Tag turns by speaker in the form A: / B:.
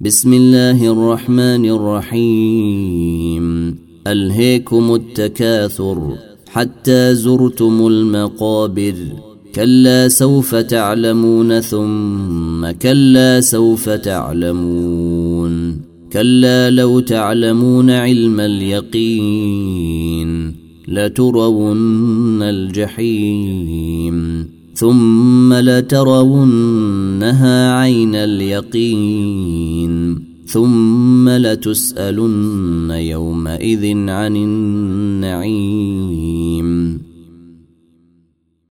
A: بسم الله الرحمن الرحيم ألهيكم التكاثر حتى زرتم المقابر كلا سوف تعلمون ثم كلا سوف تعلمون كلا لو تعلمون علم اليقين لترون الجحيم ثم لترونها عين اليقين ثم لتسألن يومئذ عن النعيم.